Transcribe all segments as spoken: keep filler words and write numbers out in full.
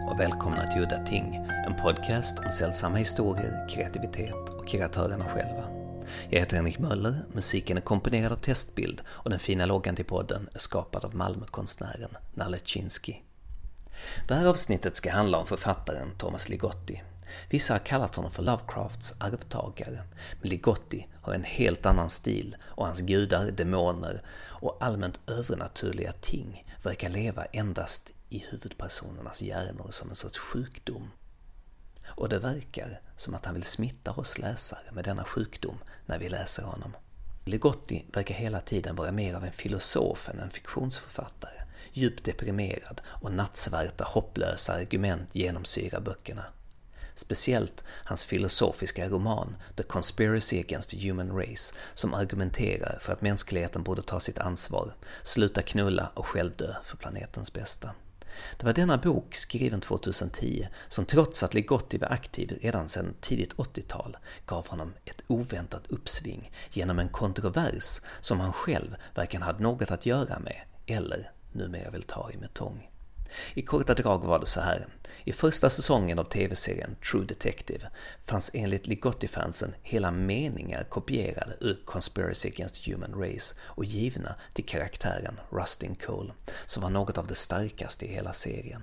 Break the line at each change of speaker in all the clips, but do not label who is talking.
och välkomna till Udda Ting, en podcast om sällsamma historier, kreativitet och kreatörerna själva. Jag heter Henrik Möller, musiken är komponerad av Testbild och den fina loggan till podden är skapad av Malmökonstnären Nalle Chinsky. Det här avsnittet ska handla om författaren Thomas Ligotti. Vissa har kallat honom för Lovecrafts arvtagare, men Ligotti har en helt annan stil och hans gudar, demoner och allmänt övernaturliga ting verkar leva endast i huvudpersonernas hjärnor som en sorts sjukdom. Och det verkar som att han vill smitta oss läsare med denna sjukdom när vi läser honom. Ligotti verkar hela tiden vara mer av en filosof än en fiktionsförfattare. Djupt deprimerad och nattsvarta hopplösa argument genomsyrar böckerna. Speciellt hans filosofiska roman The Conspiracy Against the Human Race, som argumenterar för att mänskligheten borde ta sitt ansvar, sluta knulla och själv dö för planetens bästa. Det var denna bok, skriven tjugohundratio, som trots att Ligotti var aktiv redan sedan tidigt åttiotal gav honom ett oväntat uppsving genom en kontrovers som han själv varken hade något att göra med eller numera vill ta i med tång. I korta drag var det så här. I första säsongen av tv-serien True Detective fanns enligt Ligotti-fansen hela meningar kopierade ur Conspiracy Against the Human Race och givna till karaktären Rustin Cole, som var något av det starkaste i hela serien.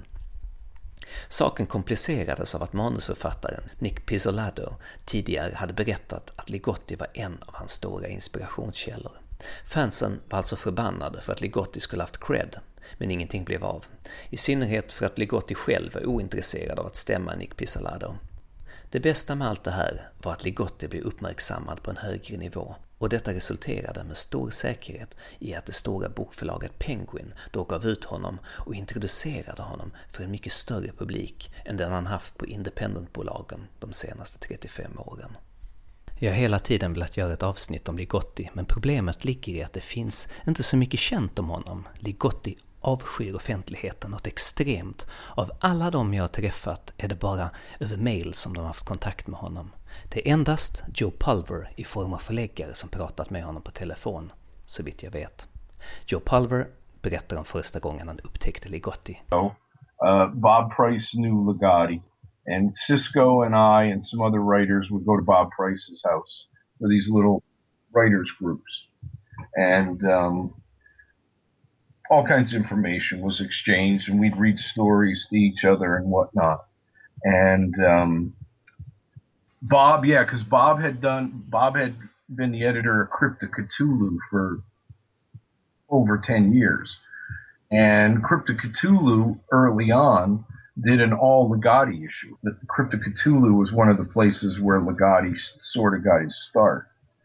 Saken komplicerades av att manusförfattaren Nick Pizzolatto tidigare hade berättat att Ligotti var en av hans stora inspirationskällor. Fansen var alltså förbannade för att Ligotti skulle haft cred, men ingenting blev av. I synnerhet för att Ligotti själv var ointresserad av att stämma Nick Pizzolatto. Det bästa med allt det här var att Ligotti blev uppmärksammad på en högre nivå, och detta resulterade med stor säkerhet i att det stora bokförlaget Penguin då gav ut honom och introducerade honom för en mycket större publik än den han haft på independentbolagen de senaste trettiofem åren. Jag har hela tiden velat göra ett avsnitt om Ligotti, men problemet ligger i att det finns inte så mycket känt om honom. Ligotti avskyr offentligheten något extremt. Av alla de jag har träffat är det bara över mail som de har haft kontakt med honom. Det är endast Joe Pulver i form av förläggare som pratat med honom på telefon, så vitt jag vet. Joe Pulver berättar om första gången han upptäckte Ligotti.
Uh, Bob Price knew Ligotti. And Cisco and I and some other writers would go to Bob Price's house for these little writers groups. And um, all kinds of information was exchanged, and we'd read stories to each other and whatnot. And um, Bob, yeah, because Bob had done, Bob had been the editor of Crypto Cthulhu for over ten years. And Crypto Cthulhu early on did an all Ligotti issue. The Crypto Cthulhu was one of the places where Ligotti sort of got his start.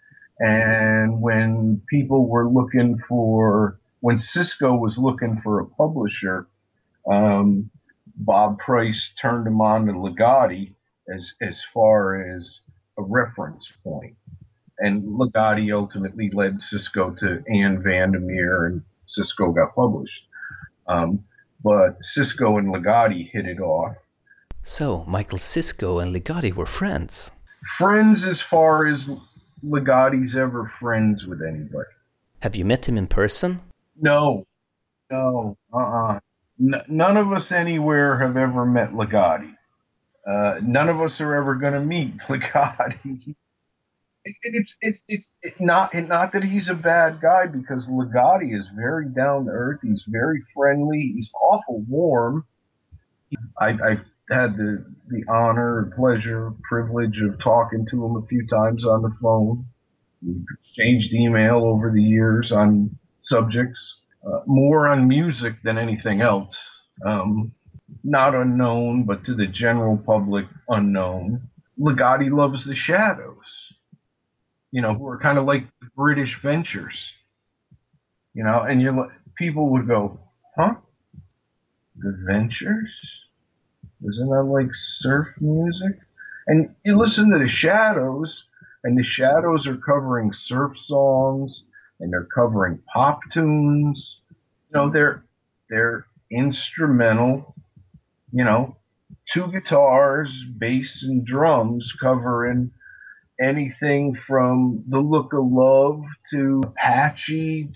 And when people were looking for, when Cisco was looking for a publisher, um, Bob Price turned him on to Ligotti as, as far as a reference point. And Ligotti ultimately led Cisco to Anne Vandermeer, and Cisco got published. Um, But Cisco and Ligotti hit it off.
So, Michael Cisco and Ligotti were friends?
Friends as far as Ligotti's ever friends with anybody.
Have you met him in person?
No. No. Uh-uh. N- none of us anywhere have ever met Ligotti. Uh, none of us are ever going to meet Ligotti. It, it's it, it, it not it, not that he's a bad guy, because Ligotti is very down to earth. He's very friendly. He's awful warm. I, I've had the the honor, pleasure, privilege of talking to him a few times on the phone. We've exchanged email over the years on subjects, uh, more on music than anything else. Um, not unknown, but to the general public, unknown. Ligotti loves the Shadows. You know, who are kind of like British Ventures, you know, and you people would go, huh? The Ventures? Isn't that like surf music? And you listen to the Shadows, and the Shadows are covering surf songs, and they're covering pop tunes. You know, they're they're instrumental, you know, two guitars, bass, and drums covering anything from The Look of Love to Apache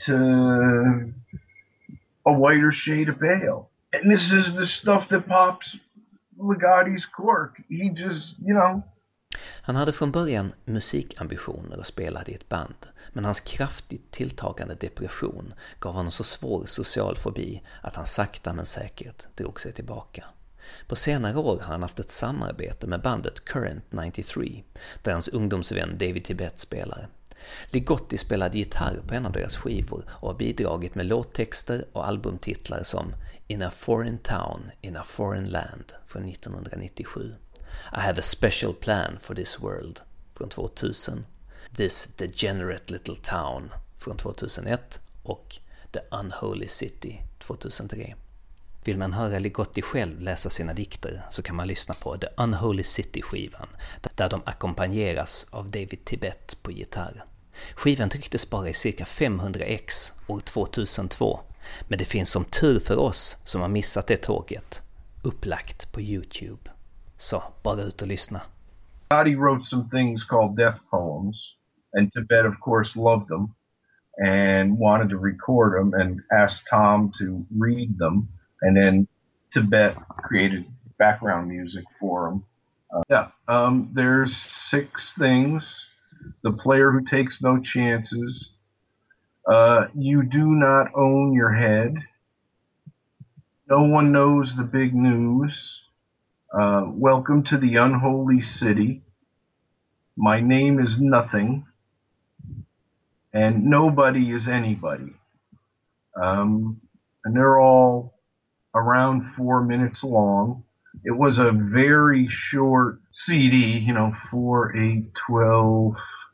to A Whiter Shade of Pale. And this is the stuff that pops Ligotti's quirk. He just, you know.
Han hade från början musikambitioner och spelade i ett band, men hans kraftigt tilltagande depression gav honom så svår social fobi att han sakta men säkert drog sig tillbaka. På senare år har han haft ett samarbete med bandet Current nittiotre, där hans ungdomsvän David Tibet spelar. Ligotti spelade gitarr på en av deras skivor och har bidragit med låttexter och albumtitlar som In a Foreign Town, in a Foreign Land från nittonhundranittiosju, I Have a Special Plan for This World från tvåtusen, This Degenerate Little Town från tvåtusenett och The Unholy City tvåtusentre. Vill man höra Ligotti själv läsa sina dikter så kan man lyssna på The Unholy City-skivan, där de ackompanjeras av David Tibet på gitarr. Skivan trycktes bara i cirka femhundra ex år tvåtusentvå, men det finns som tur för oss som har missat det tåget upplagt på YouTube. Så bara ut och lyssna.
Ligotti wrote some things called death poems, and Tibet of course loved them and wanted to record them and asked Tom to read them, and then Tibet created background music for them. Uh, yeah, um, there's six things. The player who takes no chances. Uh, you do not own your head. No one knows the big news. Uh, welcome to the unholy city. My name is nothing. And nobody is anybody. Um, and they're all around four minutes long. It was a very short C D, you know, four, eight, twelve,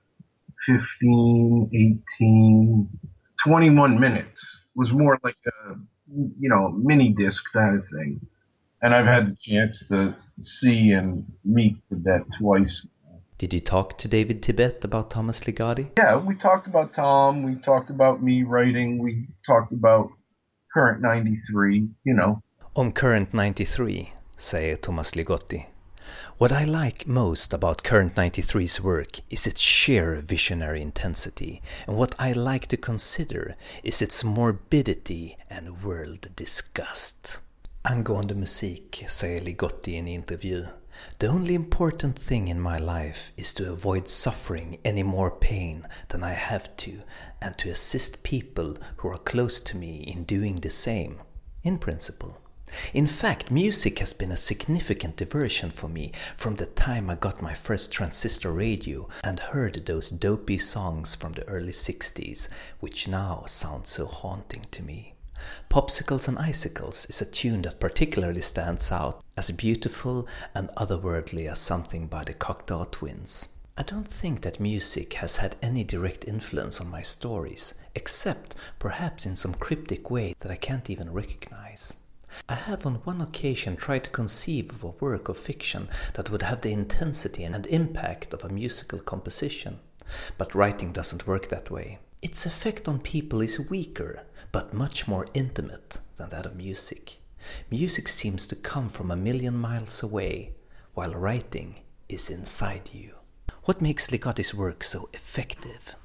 fifteen, eighteen, twenty-one minutes. It was more like a, you know, mini disc kind of thing. And I've had the chance to see and meet Tibet twice.
Did you talk to David Tibet about Thomas Ligotti?
Yeah, we talked about Tom, we talked about me writing, we talked about Current ninety-three, you know.
Om Current nittiotre säger Thomas Ligotti: What I like most about Current ninety-three's work is its sheer visionary intensity, and what I like to consider is its morbidity and world disgust. Angående musik säger Ligotti i en intervju: The only important thing in my life is to avoid suffering any more pain than I have to, and to assist people who are close to me in doing the same, in principle. In fact, music has been a significant diversion for me from the time I got my first transistor radio and heard those dopey songs from the early sixties, which now sound so haunting to me. Popsicles and Icicles is a tune that particularly stands out as beautiful and otherworldly as something by the Cocteau Twins. I don't think that music has had any direct influence on my stories, except perhaps in some cryptic way that I can't even recognize. I have on one occasion tried to conceive of a work of fiction that would have the intensity and impact of a musical composition, but writing doesn't work that way. Its effect on people is weaker, but much more intimate than that of music. Music seems to come from a million miles away, while writing is inside you. What makes Ligotti's work so effective?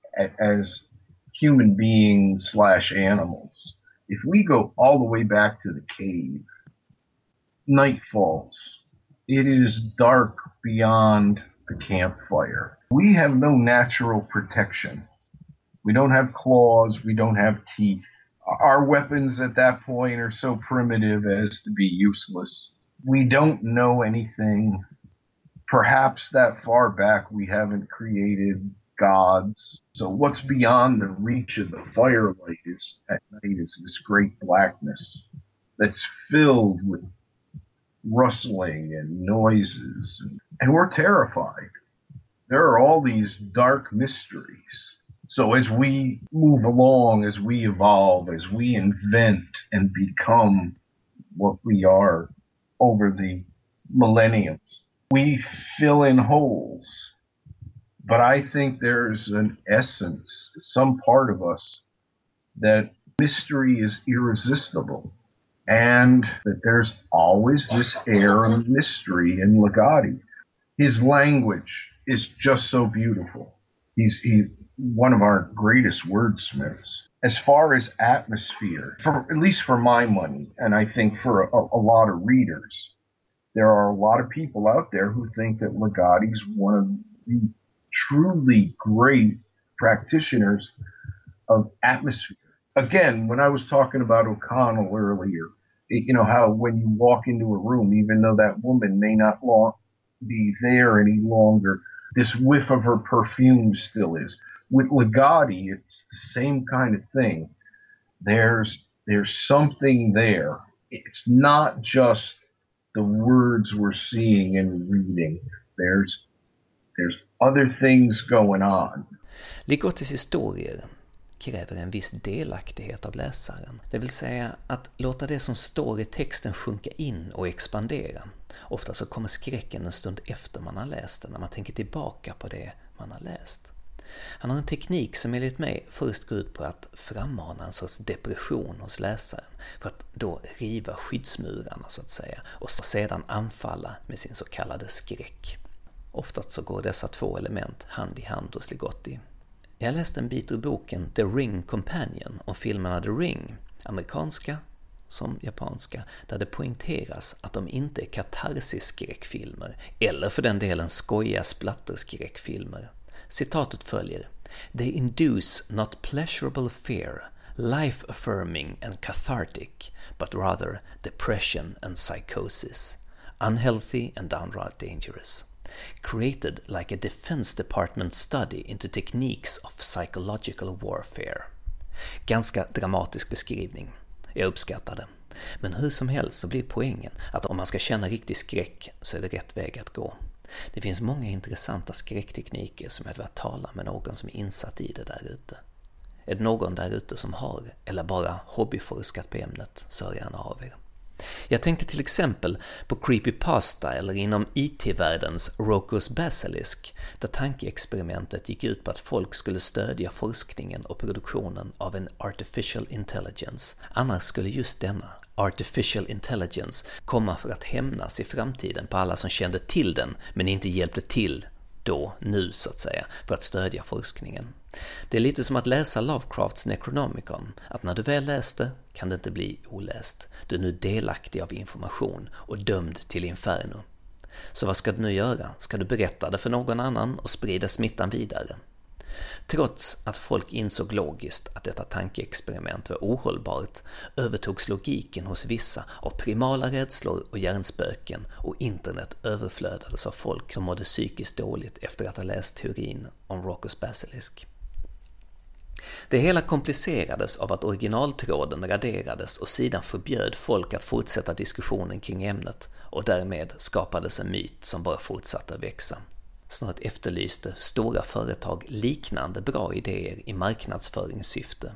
As human beings slash animals, if we go all the way back to the cave, night falls. It is dark beyond the campfire. We have no natural protection. We don't have claws. We don't have teeth. Our weapons at that point are so primitive as to be useless. We don't know anything. Perhaps that far back we haven't created gods. So what's beyond the reach of the firelight is at night is this great blackness that's filled with rustling and noises. And we're terrified. There are all these dark mysteries. So as we move along, as we evolve, as we invent and become what we are over the millenniums, we fill in holes. But I think there's an essence, some part of us, that mystery is irresistible. And that there's always this air of mystery in Ligotti. His language is just so beautiful. He's he, one of our greatest wordsmiths. As far as atmosphere, for, at least for my money, and I think for a, a lot of readers, there are a lot of people out there who think that Ligotti's one of the truly great practitioners of atmosphere. Again, when I was talking about O'Connell earlier, it, you know, how when you walk into a room, even though that woman may not long, be there any longer, this whiff of her perfume still is. With Ligotti, it's the same kind of thing. There's there's something there. It's not just the words we're seeing and reading. There's there's other things going on.
Ligottis historier kräver en viss delaktighet av läsaren. Det vill säga att låta det som står i texten sjunka in och expandera. Ofta så kommer skräcken en stund efter man har läst den, när man tänker tillbaka på det man har läst. Han har en teknik som enligt mig först går ut på att frammana en sorts depression hos läsaren, för att då riva skyddsmurarna så att säga, och sedan anfalla med sin så kallade skräck. Oftast så går dessa två element hand i hand hos Ligotti. Jag läste en bit ur boken The Ring Companion om filmerna The Ring, amerikanska som japanska, där det poängteras att de inte är katarsis-skräckfilmer eller för den delen skojiga splatterskräckfilmer. Citatet följer: They induce not pleasurable fear, life-affirming and cathartic, but rather depression and psychosis, unhealthy and downright dangerous. Created like a Defense Department study into techniques of psychological warfare. Ganska dramatisk beskrivning. Jag uppskattar det. Men hur som helst så blir poängen att om man ska känna riktig skräck så är det rätt väg att gå. Det finns många intressanta skräcktekniker som jag vill tala med någon som är insatt i det där ute. Är det någon där ute som har eller bara hobbyforskat på ämnet, så hör gärna av er. Jag tänkte till exempel på Creepypasta eller inom I T-världens Rocco's Basilisk, där tankeexperimentet gick ut på att folk skulle stödja forskningen och produktionen av en artificial intelligence. Annars skulle just denna artificial intelligence komma för att hämnas i framtiden på alla som kände till den men inte hjälpte till då, nu så att säga, för att stödja forskningen. Det är lite som att läsa Lovecrafts Necronomicon, att när du väl läste kan det inte bli oläst. Du är nu delaktig av information och dömd till inferno. Så vad ska du nu göra? Ska du berätta det för någon annan och sprida smittan vidare? Trots att folk insåg logiskt att detta tankeexperiment var ohållbart, övertogs logiken hos vissa av primala rädslor och hjärnspöken, och internet överflödades av folk som mådde psykiskt dåligt efter att ha läst teorin om Rocco's Basilisk. Det hela komplicerades av att originaltråden raderades och sidan förbjöd folk att fortsätta diskussionen kring ämnet, och därmed skapades en myt som bara fortsatte att växa. Snart efterlyste stora företag liknande bra idéer i marknadsföringssyfte.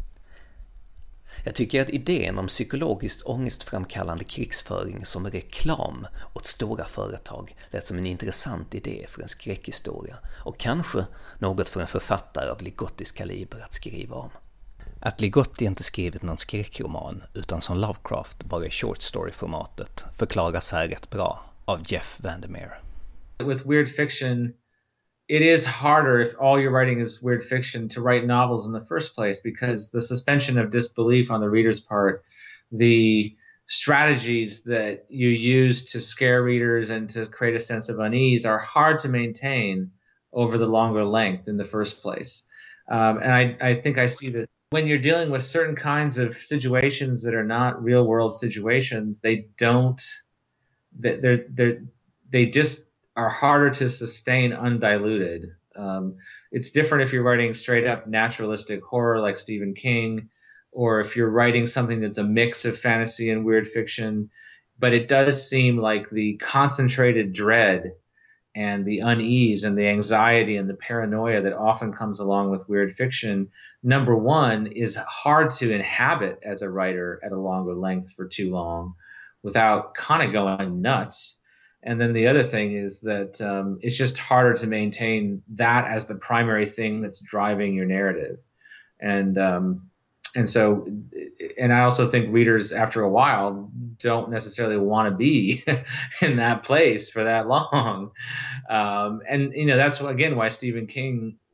Jag tycker att idén om psykologiskt ångestframkallande krigsföring som reklam åt stora företag lät som en intressant idé för en skräckhistoria, och kanske något för en författare av Ligottis kaliber att skriva om. Att Ligotti inte skrivit någon skräckroman utan som Lovecraft bara i short story-formatet förklaras här rätt bra av Jeff Vandermeer.
With weird fiction, it is harder if all you're writing is weird fiction to write novels in the first place, because the suspension of disbelief on the reader's part, the strategies that you use to scare readers and to create a sense of unease are hard to maintain over the longer length in the first place. Um, and I, I think I see that when you're dealing with certain kinds of situations that are not real world situations, they don't, they're, they're, they just are harder to sustain undiluted. Um, it's different if you're writing straight up naturalistic horror like Stephen King, or if you're writing something that's a mix of fantasy and weird fiction. But it does seem like the concentrated dread and the unease and the anxiety and the paranoia that often comes along with weird fiction, number one, is hard to inhabit as a writer at a longer length for too long without kind of going nuts. And then the other thing is that um, it's just harder to maintain that as the primary thing that's driving your narrative. And um, and so, and I also think readers after a while don't necessarily want to be in that place for that long. Um, and, you know, that's, again, why Stephen King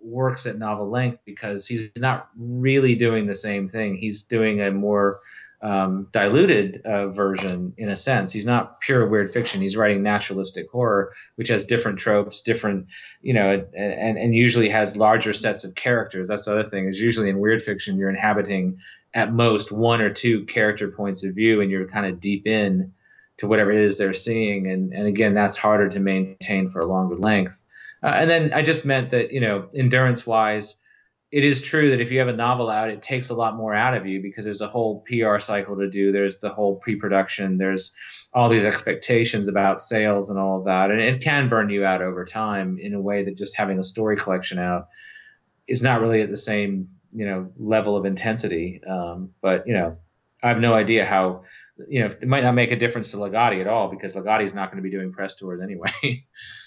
works at novel length because he's not really doing the same thing. He's doing a more um, diluted uh, version in a sense. He's not pure weird fiction. He's writing naturalistic horror, which has different tropes, different, you know, and, and usually has larger sets of characters. That's the other thing, is usually in weird fiction, you're inhabiting at most one or two character points of view, and you're kind of deep in to whatever it is they're seeing. And, and again, that's harder to maintain for a longer length. Uh, and then I just meant that, you know, endurance wise, it is true that if you have a novel out, it takes a lot more out of you because there's a whole P R cycle to do. There's the whole pre-production. There's all these expectations about sales and all of that. And it can burn you out over time in a way that just having a story collection out is not really at the same, you know, level of intensity. Um, but, you know, I have no idea how, you know, it might not make a difference to Ligotti at all because Ligotti is not going to be doing press tours anyway.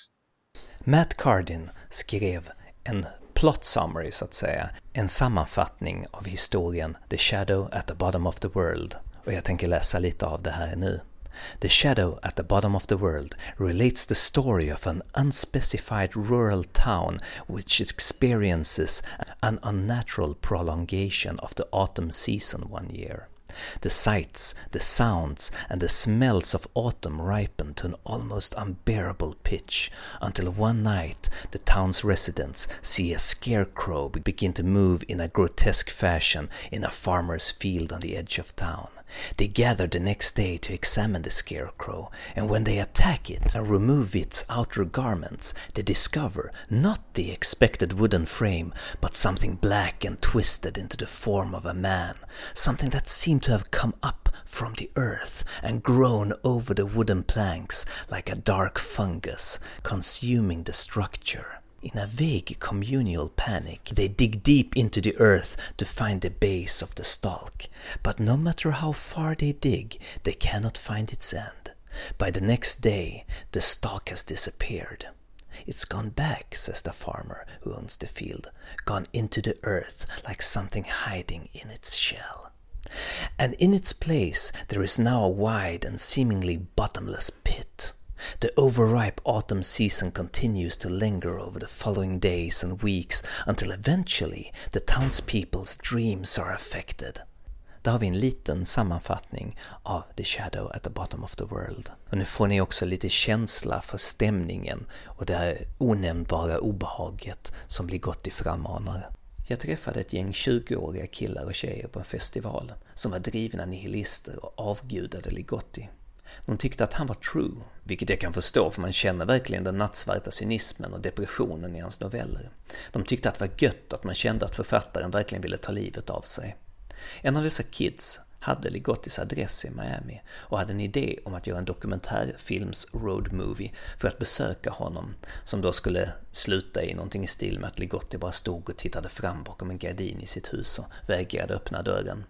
Matt Cardin skrev en plot summary så att säga, en sammanfattning av historien The Shadow at the Bottom of the World, och jag tänker läsa lite av det här nu. The Shadow at the Bottom of the World relates the story of an unspecified rural town which experiences an unnatural prolongation of the autumn season one year. The sights, the sounds, and the smells of autumn ripen to an almost unbearable pitch, until one night the town's residents see a scarecrow begin to move in a grotesque fashion in a farmer's field on the edge of town. They gather the next day to examine the scarecrow, and when they attack it and remove its outer garments, they discover not the expected wooden frame, but something black and twisted into the form of a man, something that seemed to have come up from the earth and grown over the wooden planks like a dark fungus, consuming the structure. In a vague communal panic, they dig deep into the earth to find the base of the stalk. But no matter how far they dig, they cannot find its end. By the next day, the stalk has disappeared. It's gone back, says the farmer who owns the field, gone into the earth like something hiding in its shell. And in its place, there is now a wide and seemingly bottomless pit. The overripe autumn season continues to linger over the following days and weeks until eventually the townspeople's dreams are affected. Där har vi en liten sammanfattning av The Shadow at the Bottom of the World. Och nu får ni också lite känsla för stämningen och det här onämnbara obehaget som Ligotti frammanar. Jag träffade ett gäng tjugoåriga killar och tjejer på en festival som var drivna nihilister och avgudade Ligotti. De tyckte att han var true, vilket jag kan förstå för man känner verkligen den nattsvarta cynismen och depressionen i hans noveller. De tyckte att det var gött att man kände att författaren verkligen ville ta livet av sig. En av dessa kids hade Ligottis adress i Miami och hade en idé om att göra en dokumentärfilms road movie för att besöka honom, som då skulle sluta i någonting i stil med att Ligotti bara stod och tittade fram bakom en gardin i sitt hus och vägrade öppna dörren.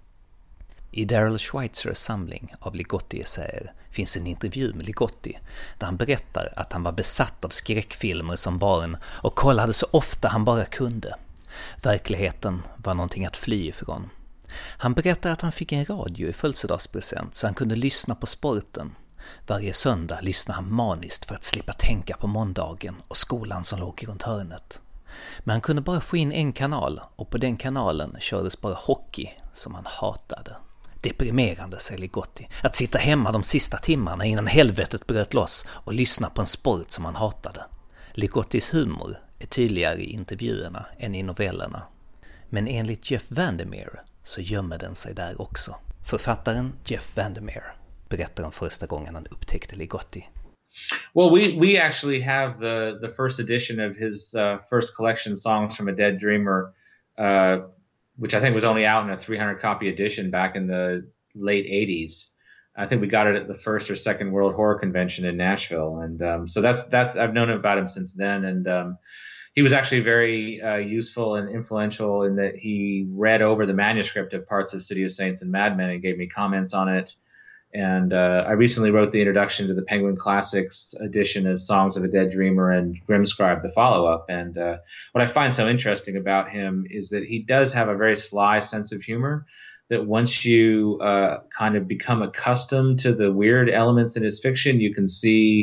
I Daryl Schweitzers samling av Ligotti-essäer finns en intervju med Ligotti där han berättar att han var besatt av skräckfilmer som barn och kollade så ofta han bara kunde. Verkligheten var någonting att fly ifrån. Han berättar att han fick en radio i födelsedagspresent så han kunde lyssna på sporten. Varje söndag lyssnade han maniskt för att slippa tänka på måndagen och skolan som låg runt hörnet. Men han kunde bara få in en kanal och på den kanalen kördes bara hockey som han hatade. Deprimerande, säger Ligotti, att sitta hemma de sista timmarna innan helvetet bröt loss och lyssna på en sport som han hatade. Ligottis humor är tydligare i intervjuerna än i novellerna. Men enligt Jeff Vandermeer så gömmer den sig där också. Författaren Jeff Vandermeer berättar om första gången han upptäckte Ligotti.
Well, we, we actually have the, the first edition of his uh, first collection, Songs from a Dead Dreamer, uh, which I think was only out in a three hundred copy edition back in the late eighties. I think we got it at the first or second World Horror Convention in Nashville. And um, so that's, that's, I've known about him since then. And um, he was actually very uh, useful and influential in that he read over the manuscript of parts of City of Saints and Mad Men and gave me comments on it. And uh, I recently wrote the introduction to the Penguin Classics edition of Songs of a Dead Dreamer and Grimscribe, the follow-up. And uh, what I find so interesting about him is that he does have a very sly sense of humor, that once you uh, kind of become accustomed to the weird elements in his fiction, you can see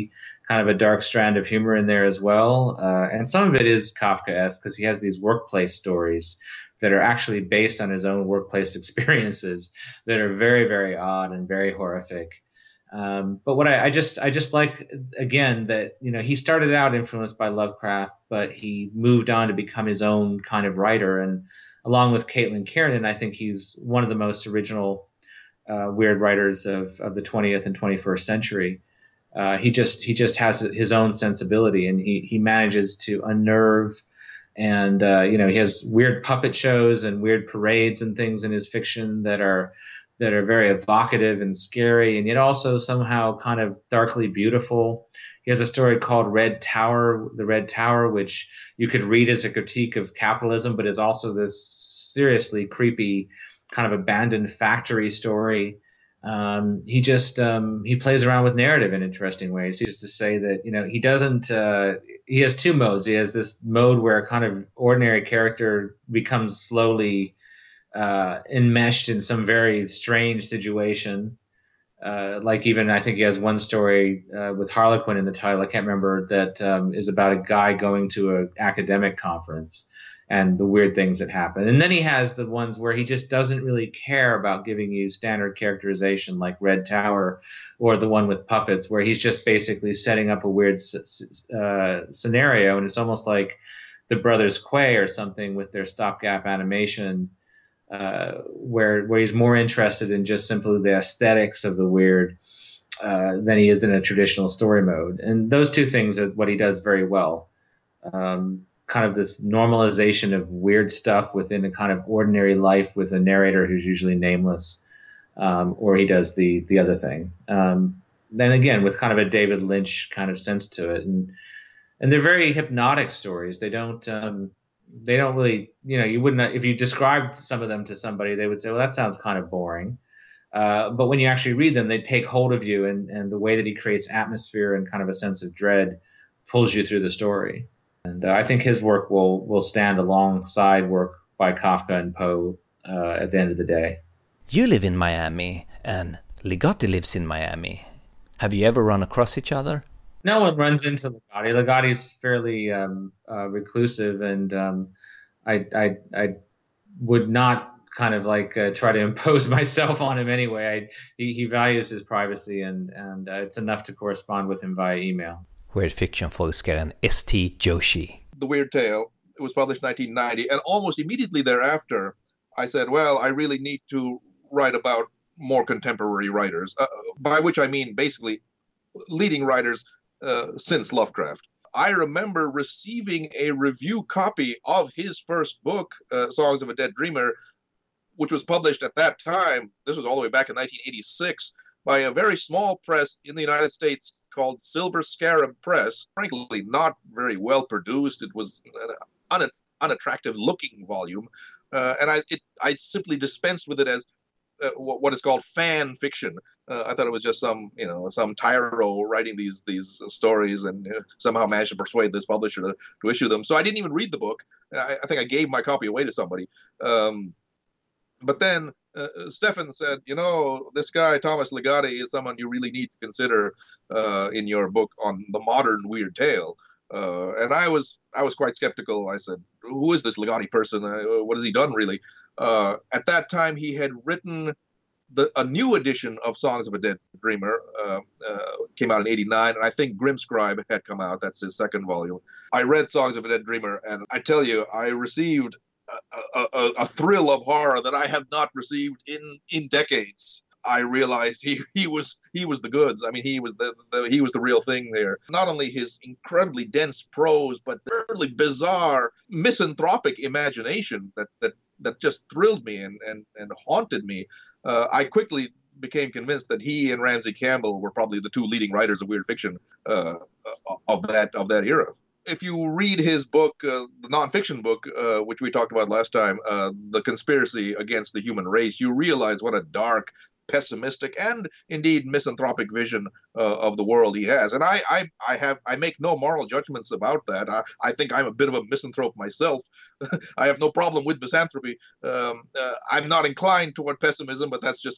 kind of a dark strand of humor in there as well. Uh, and some of it is Kafkaesque because he has these workplace stories that are actually based on his own workplace experiences that are very, very odd and very horrific. Um, but what I, I just I just like, again, that, you know, he started out influenced by Lovecraft, but he moved on to become his own kind of writer. And along with Caitlin Kiernan, I think he's one of the most original uh, weird writers of, of the twentieth and twenty-first century. Uh, he just he just has his own sensibility, and he he manages to unnerve. And, uh, you know, he has weird puppet shows and weird parades and things in his fiction that are that are very evocative and scary, and yet also somehow kind of darkly beautiful. He has a story called Red Tower, The Red Tower, which you could read as a critique of capitalism, but is also this seriously creepy kind of abandoned factory story. Um, he just um, he plays around with narrative in interesting ways. Just to say that, you know, he doesn't. Uh, he has two modes. He has this mode where a kind of ordinary character becomes slowly uh, enmeshed in some very strange situation. Uh, like even I think he has one story uh, with Harlequin in the title. I can't remember, that um, is about a guy going to an academic conference and the weird things that happen. And then he has the ones where he just doesn't really care about giving you standard characterization, like Red Tower, or the one with puppets, where he's just basically setting up a weird uh, scenario. And it's almost like the Brothers Quay or something with their stopgap animation, uh, where where he's more interested in just simply the aesthetics of the weird uh, than he is in a traditional story mode. And those two things are what he does very well. Um, kind of this normalization of weird stuff within a kind of ordinary life with a narrator who's usually nameless, um, or he does the the other thing. Um, then again, with kind of a David Lynch kind of sense to it, and and they're very hypnotic stories. They don't um, they don't really, you know, you wouldn't, if you described some of them to somebody, they would say, well, that sounds kind of boring. Uh, but when you actually read them, they take hold of you, and and the way that he creates atmosphere and kind of a sense of dread pulls you through the story. And uh, I think his work will, will stand alongside work by Kafka and Poe uh, at the end of the day.
You live in Miami, and Ligotti lives in Miami. Have you ever run across each other?
No one runs into Ligotti. Ligotti's fairly um, uh, reclusive, and um, I, I I would not kind of like uh, try to impose myself on him anyway. I, he, he values his privacy, and, and uh, it's enough to correspond with him via email.
Weird fiction-forskaren S T Joshi.
The Weird Tale, it was published in nineteen ninety, and almost immediately thereafter, I said, well, I really need to write about more contemporary writers, uh, by which I mean basically leading writers uh, since Lovecraft. I remember receiving a review copy of his first book, uh, Songs of a Dead Dreamer, which was published at that time, this was all the way back in nineteen eighty-six, by a very small press in the United States called Silver Scarab Press. Frankly, not very well produced. It was an un- unattractive looking volume. Uh, and I it, I simply dispensed with it as uh, what is called fan fiction. Uh, I thought it was just some, you know, some tyro writing these these stories and uh, somehow managed to persuade this publisher to, to issue them. So I didn't even read the book. I, I think I gave my copy away to somebody. Um, but then uh, Stefan said, you know, this guy, Thomas Ligotti, is someone you really need to consider uh, in your book on the modern Weird Tale. Uh, and I was I was quite skeptical. I said, who is this Ligotti person? Uh, what has he done, really? Uh, at that time, he had written the, a new edition of Songs of a Dead Dreamer, uh, uh, came out in eighty-nine, and I think Grimscribe had come out. That's his second volume. I read Songs of a Dead Dreamer, and I tell you, I received a, a, a thrill of horror that I have not received in, in decades. I realized he, he was he was the goods. I mean, he was the, the he was the real thing there. Not only his incredibly dense prose, but the really bizarre misanthropic imagination that that that just thrilled me and and, and haunted me. Uh, I quickly became convinced that he and Ramsey Campbell were probably the two leading writers of weird fiction uh, of that of that era. If you read his book, uh, the nonfiction book, uh, which we talked about last time, uh, The Conspiracy Against the Human Race, you realize what a dark, pessimistic, and indeed misanthropic vision uh, of the world he has. And I, I, I have, I make no moral judgments about that. I, I think I'm a bit of a misanthrope myself. I have no problem with misanthropy. Um, uh, I'm not inclined toward pessimism, but that's just be-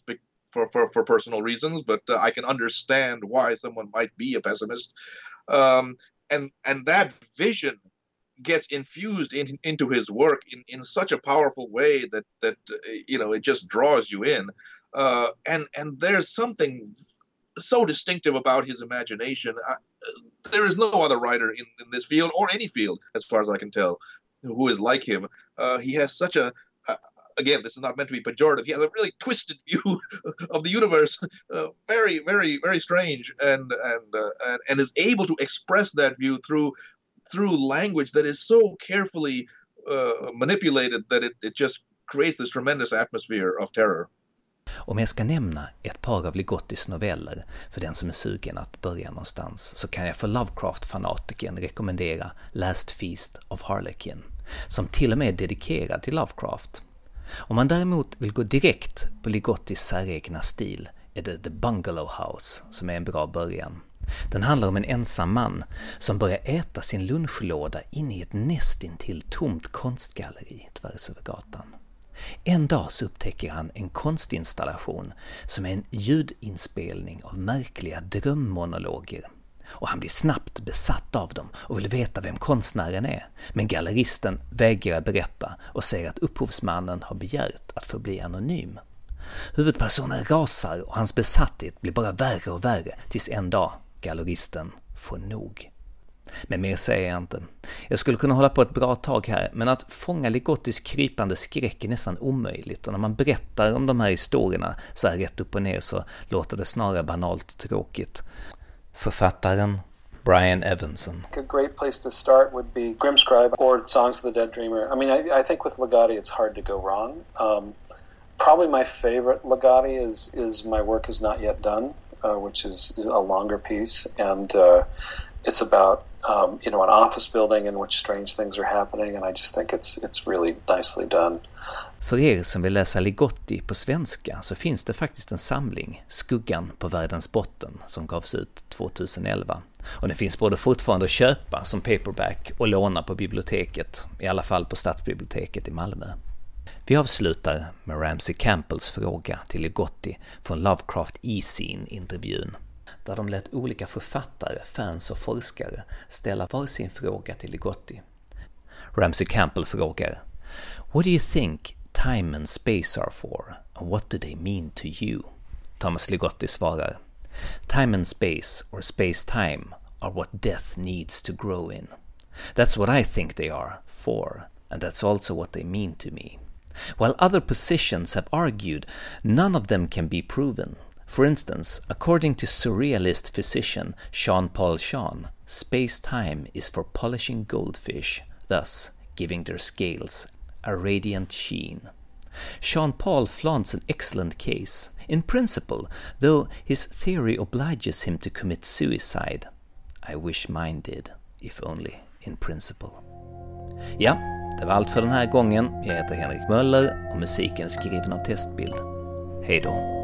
for, for, for personal reasons, but uh, I can understand why someone might be a pessimist. Um, and and that vision gets infused in, into his work in, in such a powerful way that that uh, you know it just draws you in. Uh, and and there's something so distinctive about his imagination. I, uh, there is no other writer in, in this field or any field, as far as I can tell, who is like him. Uh, he has such a uh, again, this is not meant to be pejorative. He has a really twisted view of the universe, uh, very, very, very strange, and and, uh, and and is able to express that view through through language that is so carefully uh, manipulated that it, it just creates this tremendous atmosphere of terror.
Om jag ska nämna ett par av Ligottis noveller för den som är sugen att börja någonstans, så kan jag för Lovecraft-fanatiken rekommendera Last Feast of Harlequin, som till och med är dedikerad till Lovecraft. Om man däremot vill gå direkt på Ligottis säregna stil är det The Bungalow House som är en bra början. Den handlar om en ensam man som börjar äta sin lunchlåda in i ett nästintill tomt konstgalleri tvärs över gatan. En dag så upptäcker han en konstinstallation som är en ljudinspelning av märkliga drömmonologer. Och han blir snabbt besatt av dem och vill veta vem konstnären är. Men galleristen vägrar berätta och säger att upphovsmannen har begärt att få bli anonym. Huvudpersonen rasar och hans besatthet blir bara värre och värre tills en dag galleristen får nog. Men mer säger jag inte. Jag skulle kunna hålla på ett bra tag här, men att fånga Ligottis krypande skräck är nästan omöjligt, och när man berättar om de här historierna så här rätt upp och ner så låter det snarare banalt tråkigt. Författaren Brian Evenson.
A great place to start would be Grimscribe or Songs of the Dead Dreamer. I mean, I, I think with Ligotti it's hard to go wrong. Um, probably my favorite Ligotti is, is My Work Is Not Yet Done, uh, which is a longer piece, and uh, it's about um, you know, an office building in which strange things are happening, and I just think it's it's really nicely done.
För er som vill läsa Ligotti på svenska så finns det faktiskt en samling, Skuggan på världens botten, som gavs ut tjugoelva. Och den finns både fortfarande att köpa som paperback och låna på biblioteket, i alla fall på Stadsbiblioteket i Malmö. Vi avslutar med Ramsey Campbells fråga till Ligotti från Lovecraft E-Scene-intervjun, där de lät olika författare, fans och forskare ställa var sin fråga till Ligotti. Ramsey Campbell frågar: What do you think time and space are for, and what do they mean to you? Thomas Ligotti svarar: Time and space, or space-time, are what death needs to grow in. That's what I think they are for, and that's also what they mean to me. While other positions have argued, none of them can be proven. For instance, according to surrealist physician Jean-Paul Jean, space-time is for polishing goldfish, thus giving their scales a radiant sheen. Jean-Paul flaunts an excellent case, in principle, though his theory obliges him to commit suicide. I wish mine did, if only in principle. Ja, det var allt för den här gången. Jag heter Henrik Möller och musiken är skriven av Testbild. Hej då!